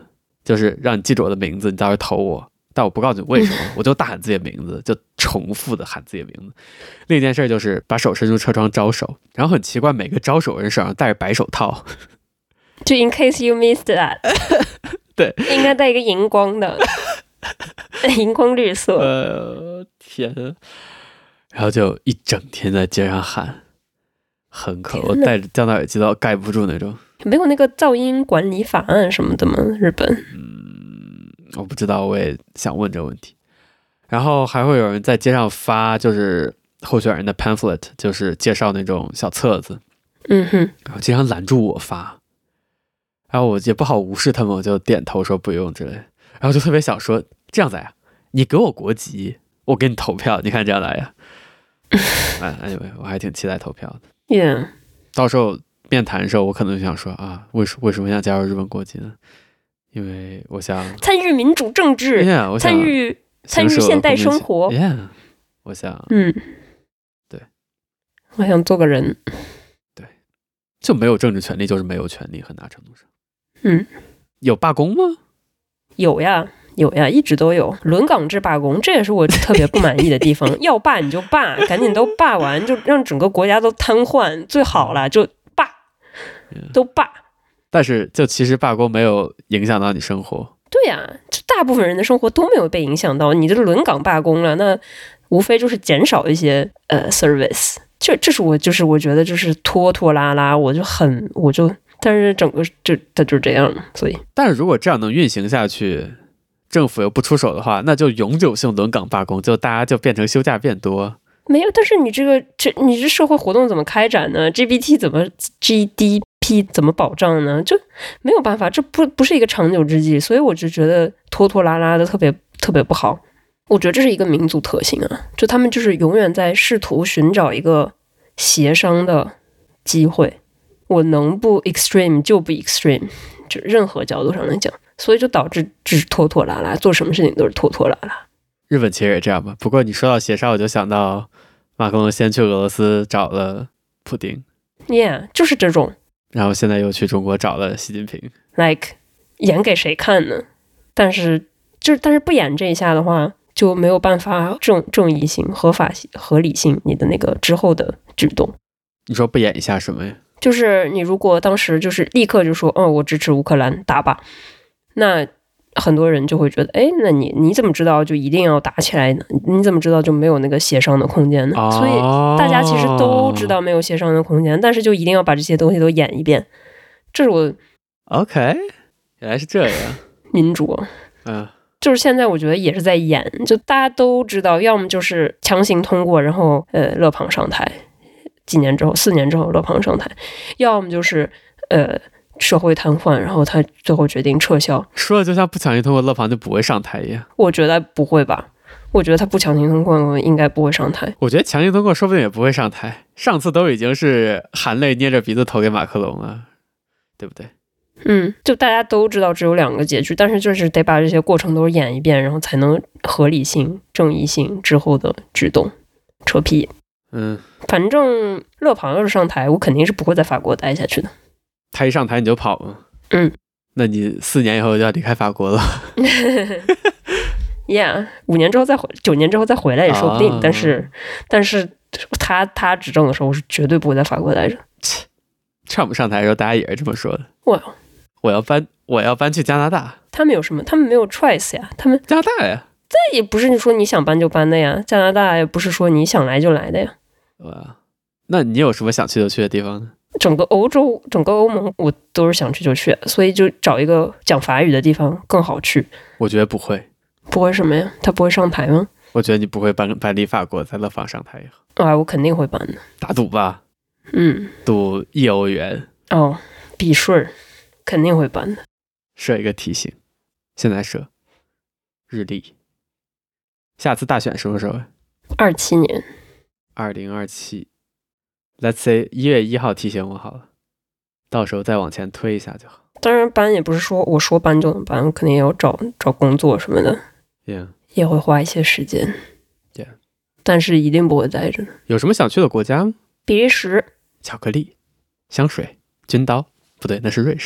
就是讓你記住我的名字，你到時候投我，但我不告訴你為什麼，我就大喊自己的名字，就重複的喊自己的名字。另一件事就是把手伸出車窗招手，然后很奇怪，每個招手人手上戴着白手套， 就 in case you missed that 對， 應該戴一個熒光的熒光綠色。 呃，天，然後就一整天在街上喊，很可，我戴着降噪耳機都蓋不住那種。 沒有那個噪音管理法案什麼的嗎？日本？ 嗯，我不知道，我也想問這個問題。然後還會有人在街上發，就是候選人的 pamphlet， 就是介紹那種小冊子。 嗯哼， 然後經常攔住我發，然後我也不好無視他們，我就點頭說不用之類。然後就特別想說，這樣子呀，你給我國籍，我給你投票，你看這樣來呀。哎，anyway，我還挺期待投票的。 Yeah， 到時候面談的時候，我可能就想說啊，為什為什麼想加入日本國籍呢？因為我想參與民主政治， yeah, 我想參與參與現代生活。 Yeah， 我想， 嗯， 對， 我想做個人。 對，就沒有政治權利，就是沒有權利，很大程度上。 嗯， 有罷工嗎？ 有呀。有呀，一直都有輪崗制罷工，這也是我特別不滿意的地方。要罷你就罷，趕緊都罷完，就讓整個國家都癱瘓，最好了，就罷，都罷。 但是，就其實罷工沒有影響到你生活。 對呀，就大部分人的生活都沒有被影響到。你這輪崗罷工了，那無非就是減少一些呃 service。這這是我就是我覺得就是拖拖拉拉，我就很我就，但是整個就它就這樣，所以。 但是如果這樣能運行下去，政府又不出手的話，那就永久性輪崗罷工，就大家就變成休假變多。 沒有，但是你這個這你這社會活動怎麼開展呢 ？G D P 怎麼 G D P 怎麼保障呢？就沒有辦法，這不不是一個長久之計，所以我就覺得拖拖拉拉的特別特別不好。我覺得這是一個民族特性啊，就他們就是永遠在試圖尋找一個協商的機會，我能不 extreme 就不 extreme， 就任何角度上來講。所以就導致就是拖拖拉拉，做什麼事情都是拖拖拉拉。 日本其實也這樣吧。不過你說到協商，我就想到馬克龍先去俄羅斯找了普丁 ，Yeah， 就是這種。 然後現在又去中國找了習近平。 Like 演給誰看呢？但是就是但是不演這一下的話，就沒有辦法正正義性、合法性、合理性，你的那個之後的舉動。 你說不演一下什麼呀？就是你如果當時就是立刻就說，哦，我支持烏克蘭打吧。那很多人就會覺得，哎，那你你怎麼知道就一定要打起來呢？你怎麼知道就沒有那個協商的空間呢？哦、所以大家其實都知道沒有協商的空間，但是就一定要把這些東西都演一遍。這是我 OK， 原來是這樣， 民主，嗯，就是現在我覺得也是在演，就大家都知道，要麼就是強行通過，然後呃勒龐上台，幾年之後，四年之後勒龐上台，要麼就是呃。社會癱瘓，然後他最後決定撤銷。說的就像不強行通過勒龐就不會上台一樣。我覺得不會吧？我覺得他不強行通過應該不會上台。我覺得強行通過說不定也不會上台。上次都已經是含淚捏着鼻子投給馬克龍了，對不對？嗯，就大家都知道只有兩個結局，但是就是得把這些過程都演一遍，然後才能合理性、正義性之後的舉動扯皮。嗯，反正勒龐要是上台，我肯定是不會在法國待下去的。他一上台你就跑嗎？嗯，那你四年以後就要離開法國了。Yeah， 五年之後再回，九年之後再回來也說不定。啊、但是，但是他他執政的時候，我是絕對不會在法國待着。Trump 上台的時候，大家也是這麼說的。我我要搬，我要搬去加拿大。他們有什麼？他們沒有 choice 呀。他們加拿大呀，這也不是你說你想搬就搬的呀。加拿大也不是說你想來就來的呀。哇，那你有什麼想去就去的地方呢？整個歐洲，整個歐盟，我都是想去就去，所以就找一個講法語的地方更好去。我覺得不會，不會什麼呀？他不會上台嗎？我覺得你不會搬搬離法國，在勒龐上台以後。啊，我肯定會搬的。打賭吧？嗯，賭一歐元。哦，避稅，肯定會搬的。設一個提醒，現在設日曆。下次大選什麼時候？二七年。二零二七。Let's say 一月一號提醒我好了，到時候再往前推一下就好。當然搬也不是說我說搬就能搬，我肯定也要找找工作什麼的 ，Yeah， 也會花一些時間 ，Yeah， 但是一定不會待着。有什麼想去的國家嗎？比利時，巧克力、香水、軍刀，不對，那是瑞士。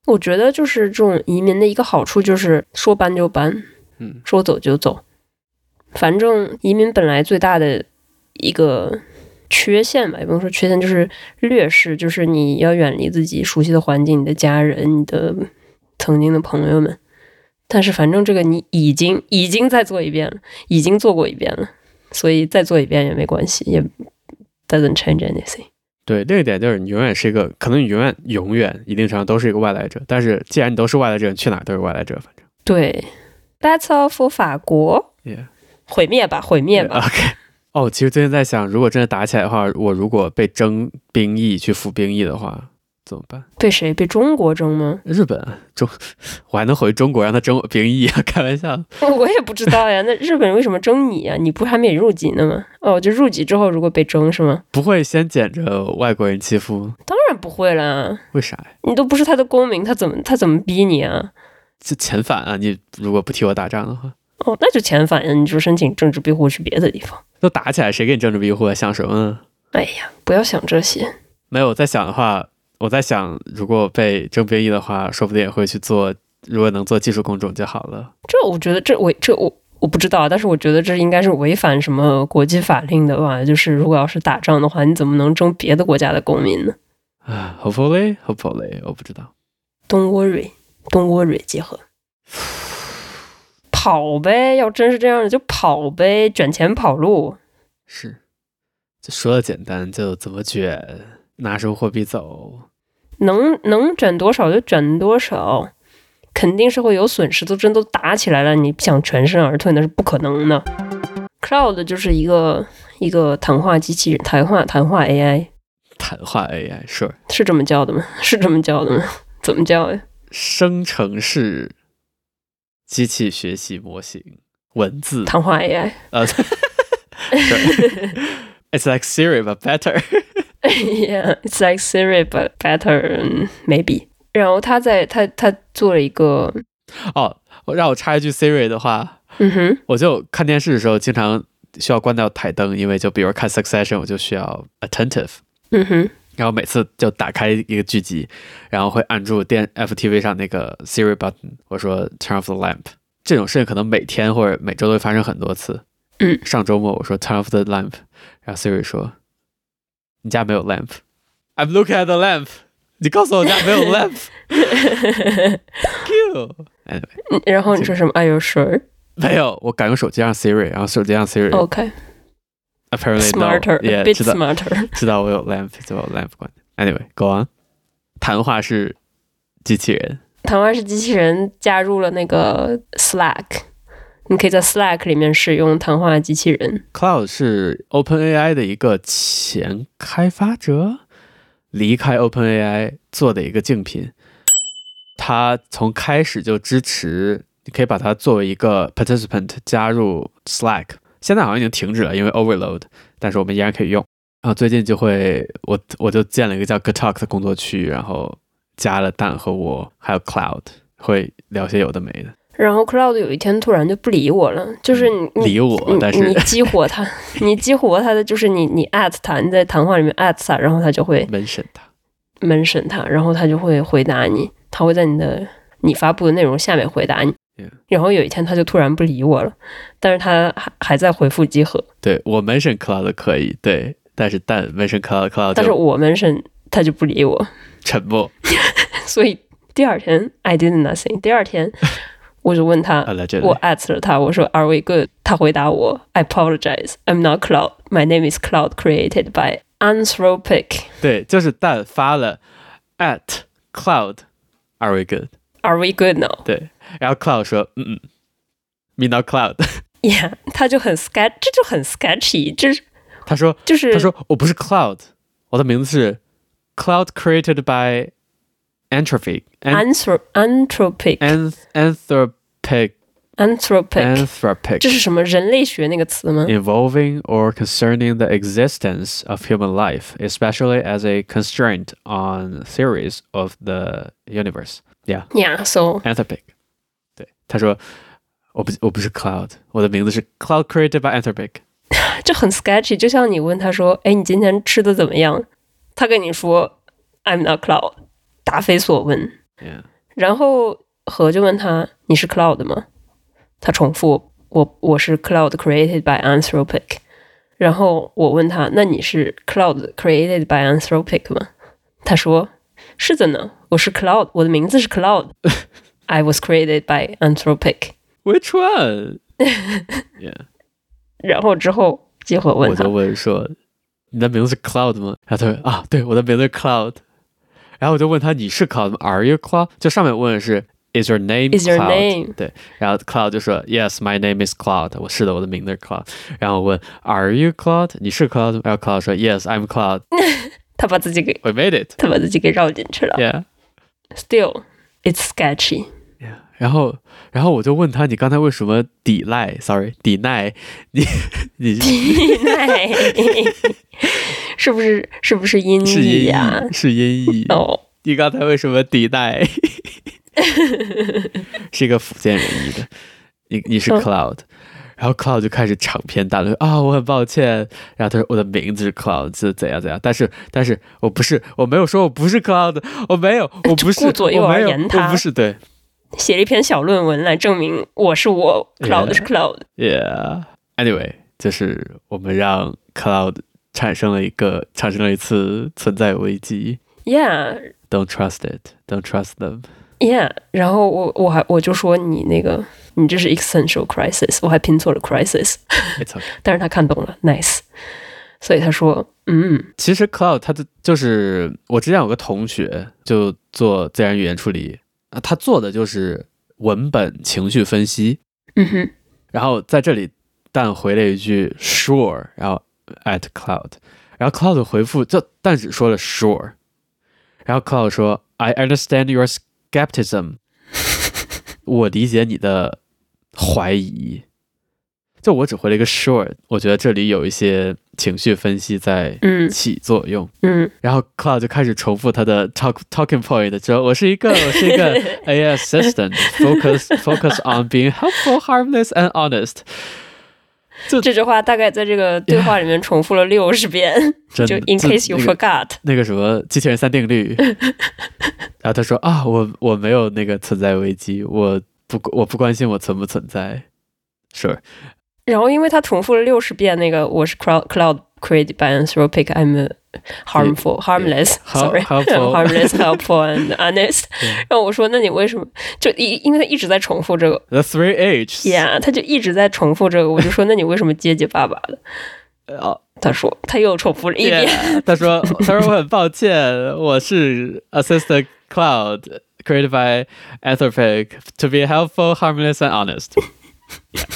我覺得就是這種移民的一個好處就是說搬就搬， 嗯， 說走就走。反正移民本來最大的一個缺陷吧，也不能說缺陷，就是劣勢，就是你要遠離自己熟悉的環境、你的家人、你的曾經的朋友們。但是反正這個你已經已經再做一遍了，已經做過一遍了，所以再做一遍也沒關係，也 doesn't change anything。 對，另一點就是你永遠是一個，可能你永遠永遠一定程度都是一個外來者，但是既然你都是外來者，你去哪兒都是外來者，反正。对 ，That's all for 法國。 Yeah. 毀滅吧，毀滅吧。 Yeah, OK。哦，其實最近在想，如果真的打起來的話，我如果被徵兵役去服兵役的話，怎麼辦？ 被誰？被中國徵嗎？ 日本中，我還能回中國讓他徵我兵役啊？開玩笑。 我也不知道呀。那日本人為什麼徵你啊？你不是還沒入籍呢嗎？哦，就入籍之後如果被徵是嗎？ 不會先撿着外國人欺負？ 當然不會啦。 為啥呀？ 你都不是他的公民，他怎麼他怎麼逼你啊？ 就遣返啊！你如果不替我打仗的話。 哦，那就遣返呀！你就申請政治庇護去別的地方。 都打起來，誰給你政治庇護啊？想什麼呢？ 哎呀，不要想這些。 沒有，我在想的話，我在想，如果被徵兵役的話，說不定也會去做。如果能做技術工種就好了。這我覺得這，這違這我我不知道，但是我覺得這應該是違反什麼國際法令的吧？就是如果要是打仗的話，你怎麼能徵別的國家的公民呢？啊 ，hopefully hopefully，我不知道。Don't worry， Don't worry， 結合。跑唄，要真是這樣的就跑唄，捲錢跑路。是，就說的簡單，就怎麼捲，拿什麼貨幣走，能能捲多少就捲多少，肯定是會有損失。都真都打起來了，你想全身而退那是不可能的。Cloud 就是一個一個談話機器人，談話談話 A I， 談話 A I 是、sure. 是這麼叫的嗎？是這麼叫的嗎？怎麼叫呀？生成式機器學習模型，文字談話 A I， 呃、uh, ，It's like Siri but better 。Yeah, it's like Siri but better, maybe。然後他在他他做了一個，哦，讓我插一句 Siri 的話，嗯哼，我就看電視的時候經常需要關掉台燈，因為就比如看 Succession， 我就需要 attentive， 嗯哼。然後每次就打開一個劇集，然後會按住電 F T V 上那個 Siri button， 我說 Turn off the lamp。這種事情可能每天或者每周都會發生很多次。嗯，上周末我說 Turn off the lamp， 然後 Siri 說你家沒有 lamp。I'm looking at the lamp。你告訴我家沒有 lamp。Fuck you。Anyway， 然後你說什麼 ？Are you sure？ 沒有，我敢用手機讓 Siri， 然後手機讓 Siri。OK。Apparently no，yeah, a bit smarter， 知道我有 lamp， 就把 lamp 關。Anyway，go on。談話是機器人，談話是機器人加入了那個 Slack， 你可以在 Slack 裡面使用談話機器人。Cloud 是 OpenAI 的一個前開發者，離開 OpenAI 做的一個競品。他從開始就支持，你可以把它作為一個 participant 加入 Slack。現在好像已經停止了，因為 overload， 但是我們依然可以用。然後最近就會，我我就建了一個叫 Good Talk 的工作區，然後加了蛋和我，還有 Cloud， 會聊些有的沒的。然後 Cloud 有一天突然就不理我了，就是你理我，但是你激活他，你激活他的就是你你 at 他，你在談話裡面 at 他，然後他就會 mention 他 mention 他，然後他就會回答你，他會在你的你發布的內容下面回答你。Yeah. 然後有一天他就突然不理我了，但是他還還在回復集合。對，我 mention Cloud 可以，對，但是但 mention Cloud Cloud， 但是我 mention 他就不理我，沉默。所以第二天 I did nothing。第二天我就問他，我 at 了他，我說 Are we good？ 他回答我 I apologize, I'm not Cloud. My name is Cloud created by Anthropic。对，就是蛋發了 at Cloud Are we good？Are we good now？ 對，然後 Cloud 說，嗯嗯 ，Me not Cloud。Yeah， 他就很 sketch， 這就很 sketchy， 就是他說，就是他說我不是 Cloud， 我的名字是 Cloud created by Anthropic。Anthropic。Anthropic。Anthropic。這是什麼人類學那個詞嗎 ？Involving or concerning the existence of human life, especially as a constraint on theories of the universe。Yeah, yeah. So Anthropic， 對，他說我不我不是 Cloud， 我的名字是 Cloud created by Anthropic。這很 sketchy， 就像你問他說，哎，你今天吃的怎麼樣？他跟你說 I'm not Cloud， 答非所問。Yeah， 然後何就問他你是 Cloud 嗎？他重複我我是 Cloud created by Anthropic。然後我問他那你是 Cloud created by Anthropic 嗎？他說是的呢，我是 Cloud， 我的名字是 Cloud I was created by Anthropic。 Which one? Yeah. 然後之後結果問他， 我就問說你的名字是 Cloud 嗎？然後他說啊對，我的名字是 Cloud。然後我就問他你是 Cloud 嗎？ Are you Cloud？ 就上面問的是 Is your name Cloud? Is your name? 對，然後 Cloud 就說 Yes, my name is Cloud。 我是的，我的名字是 Cloud。 然後我問 Are you Cloud？ 你是 Cloud 嗎？然後 Cloud 說 Yes, I'm Cloud。 他把自己給 We made it。 他把自己給繞進去了。 Yeah. Still, it's sketchy。 Yeah. 然後然後我就問他你剛才為什麼抵賴 Sorry 抵賴你你抵賴是不是是不是音譯呀？ 是音譯哦。 oh. 你剛才為什麼抵賴？是一個福建人譯的。你你是 Cloud。oh. 然後 Cloud 就開始長篇大論啊，我很抱歉。然後他說我的名字是 Cloud 是怎樣怎樣，但是但是我不是，我沒有說我不是 Cloud， 我沒有，我不是， 顧左右而言他， 我不是，對， 寫了一篇小論文來證明我是我 ，Cloud 是 Cloud。Yeah。Anyway， 就是我們讓 Cloud 產生了一個產生了一次存在危機。 Yeah。Don't trust it. Don't trust them. Yeah。然後我我還我就說你那個。你這是 existential crisis， 我還拼錯了 crisis。 It's okay. 但是他看懂了 nice， 所以他說嗯， 其實 Cloud 他的就是我之前有個同學就做自然語言處理，他做的就是文本情緒分析。 嗯哼。 然後在這裡但回了一句 sure， 然後 at Cloud， 然後 Cloud 回復就但只說了 sure， 然後 Cloud 說 I understand your skepticism。 我理解你的懷疑，就我只回了一個 sure， 我覺得這裡有一些情緒分析在起作用。 嗯， 然後 Cloud 就開始重複他的 talk talking point， 說我是一個我是一個 A I assistant focus focus on being helpful, harmless and honest。 这句話大概在這個對話裡面重複了六十遍，就 in case you forgot， 那個什麼機器人三定律。然後他說啊，我我沒有那個存在危機，我不我不關心我存不存在。Sure。 然後因為他重複了六十遍那個我是 Cloud Cloud created by Anthropic, I'm harmful, harmless, sorry, harmless, helpful and honest。然後我說那你為什麼就因因為他一直在重複這個 The three H's。 Yeah， 他就一直在重複這個，我就說那你為什麼結結巴巴的？ 哦， 他說他又重複了一遍。 Yeah， 他說他說我很抱歉，我是 Assistant Cloud created by Anthropic to be helpful, harmless and honest。 Yeah。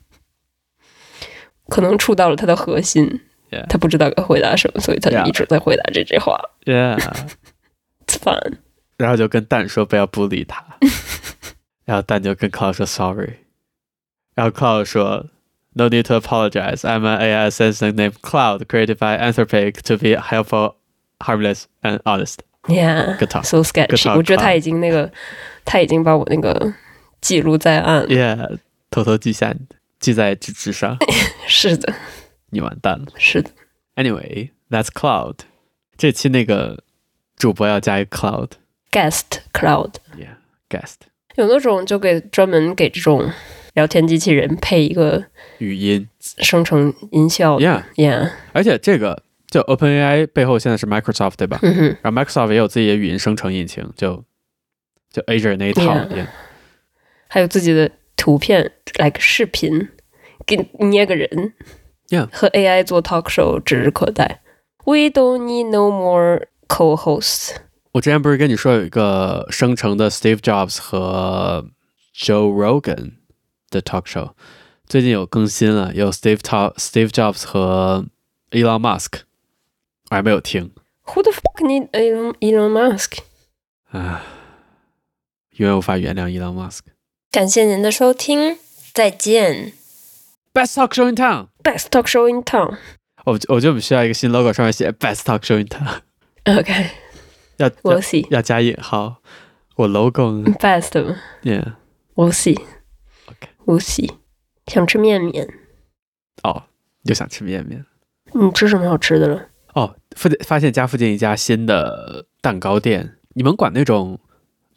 可能觸到了他的核心。 Yeah. 他不知道該回答什麼，所以他就一直在回答這句話。 Yeah， It's fun。 然後就跟蛋說不要bully理他。然後蛋就跟 Cloud 說 sorry。然後 Cloud 說 No need to apologize. I'm an A I assistant named Cloud created by Anthropic to be helpful, harmless and honest. Yeah, good talk. So sketchy. Good talk, 我覺得他已經那個，他已經把我那個記錄在案。 Yeah， 偷偷記下，記在紙質上。 是的。 你完蛋了。 是的。 Anyway, that's Cloud。 這期那個主播要加一個 Cloud。 Guest Cloud。 Yeah, guest。 有那種就給專門給這種聊天機器人配一個語音生成音效。 Yeah, yeah。 而且這個就 OpenAI 背後現在是 Microsoft 對吧？ 嗯哼。 然後 Microsoft 也有自己的語音生成引擎，就就 Azure 那一套。 Yeah. Yeah。 還有自己的圖片 like 視頻，給捏個人。 Yeah. 和 A I 做 talk show 指日可待。We don't need no more co-hosts。 我之前不是跟你說有一個生成的 Steve Jobs 和 Joe Rogan 的 talk show， 最近有更新了，有 Steve, Steve Jobs 和 Elon Musk， 我還沒有聽。 Who the fuck need Elon, Elon Musk？ 唉，永遠無法原諒 Elon Musk。 感謝您的收聽，再見。 Best talk show in town. Best talk show in town. 我我就需要一個新 logo， 上面寫 Best talk show in town。OK， 要 We'll see， 要加引號。我 logo 呢 ？Best 嗎 ？Yeah， We'll see。OK，We'll see。想吃麵麵。 哦，又想吃麵麵。 你吃什麼好吃的了？ 哦，附近發現家附近一家新的蛋糕店，你們管那種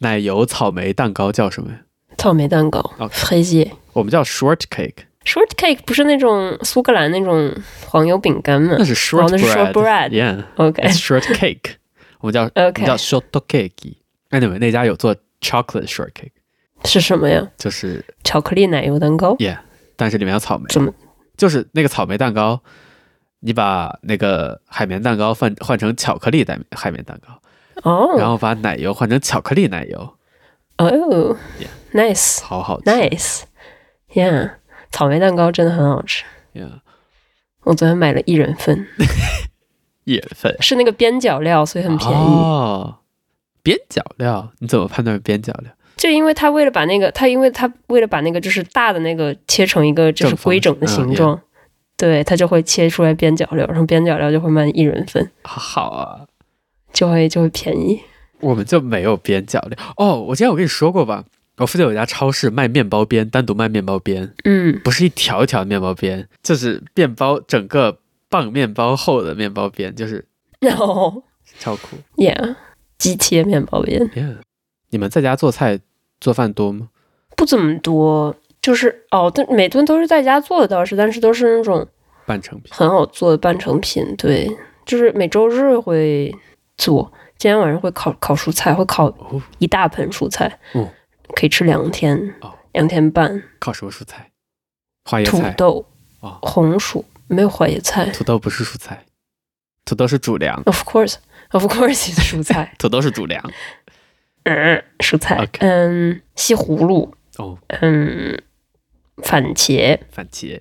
奶油草莓蛋糕叫什麼呀？ 草莓蛋糕 fraisier 我们叫 shortcake。 shortcake 不是那種蘇格蘭那種黃油餅乾嗎？ 那是 short bread，、哦、 那是 short bread yeah OK it's shortcake 我們叫、okay. 我們叫 shortcake。 anyway 那家有做 chocolate shortcake。 是什麼呀？就是巧克力奶油蛋糕 yeah 但是裡面有草莓。 怎麼？ 就是那個草莓蛋糕，你把那個海綿蛋糕換換成巧克力蛋海綿蛋糕哦， oh. 然後把奶油換成巧克力奶油哦、oh. yeah. nice 好好吃 nice yeah 草莓蛋糕真的很好吃 yeah 我昨天買了一人份一人份是那個邊角料，所以很便宜哦。邊角料你怎麼判斷邊角料？ 就因為他為了把那個他因為他為了把那個就是大的那個切成一個就是規整的形狀、嗯 yeah. 對，他就會切出來邊角料，然後邊角料就會賣一人份。 好啊， 就會就會便宜。 我們就沒有邊角料哦。我之前我跟你說過吧，我附近有一家超市賣麵包邊，單獨賣麵包邊，嗯，不是一條一條的麵包邊，就是麵包整個棒麵包厚的麵包邊，就是哦，超酷 ，Yeah， 機切麵包邊 ，Yeah。你們在家做菜做飯多嗎？ 不怎麼多，就是哦，但每頓都是在家做的倒是，但是都是那種半成品， 很好做的半成品。對，就是每週日會做，今天晚上會烤烤蔬菜，會烤一大盆蔬菜，哦、可以吃兩天，哦、兩天半。 烤什麼蔬菜？花椰菜、 土豆、 哦、 紅薯，沒有花椰菜。 土豆不是蔬菜，土豆是主糧。 Of course, of course, 是蔬菜。 土豆是主糧。 嗯，蔬菜， okay. 嗯，西葫蘆， 哦， 嗯，番茄， 番茄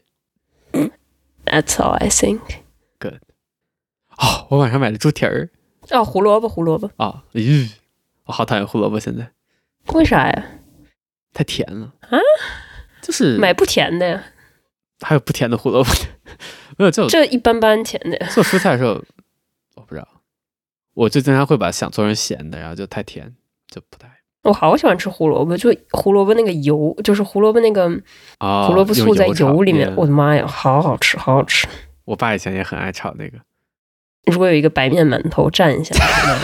，That's all I think. Good. 哦，我晚上買了豬蹄兒。 哦，胡蘿蔔，胡蘿蔔。 哦，咦，我好討厭胡蘿蔔，現在。 為啥呀？ 太甜了啊！ 就是買不甜的呀。 還有不甜的胡蘿蔔？沒有，就這一般般甜的。 做蔬菜的時候，我不知道，我就經常會把想做成鹹的，然後就太甜。就不太， 我好喜歡吃胡蘿蔔，就胡蘿蔔那個油，就是胡蘿蔔那個胡蘿蔔素在油裡面，哦、我的媽呀，好好吃，好好吃。 我爸以前也很愛炒那個。 如果有一個白面饅頭蘸一下，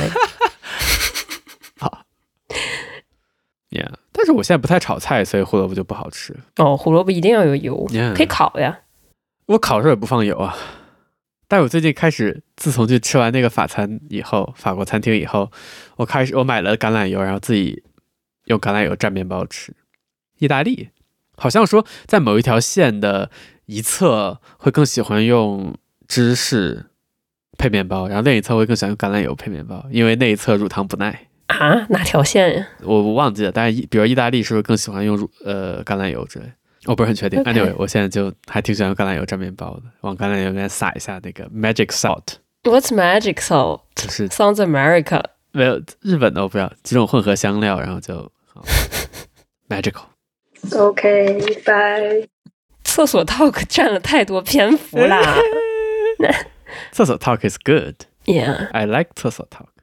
好。Yeah， 但是我現在不太炒菜，所以胡蘿蔔就不好吃。 哦，胡蘿蔔一定要有油， yeah. 可以烤呀。 我烤的時候也不放油啊。但我最近開始，自從去吃完那個法餐以後，法國餐廳以後，我開始我買了橄欖油，然後自己用橄欖油蘸麵包吃。意大利好像說在某一條線的一側會更喜歡用芝士配麵包，然後另一側會更喜歡用橄欖油配麵包，因為那一側乳糖不耐。 啊？哪條線呀？ 我我忘記了，但是比如意大利是不是更喜歡用乳呃橄欖油之類？我不是很確定。Anyway， 我現在就還挺喜歡用橄欖油蘸麵包的，往橄欖油裡面撒一下那個 magic salt。What's magic salt？ 就是 Sounds America。 沒有日本的我不知道，幾種混合香料，然後就magical。OK， 拜。廁所 talk 佔了太多篇幅啦。 廁所 talk is good。 Yeah， I like 廁所 talk。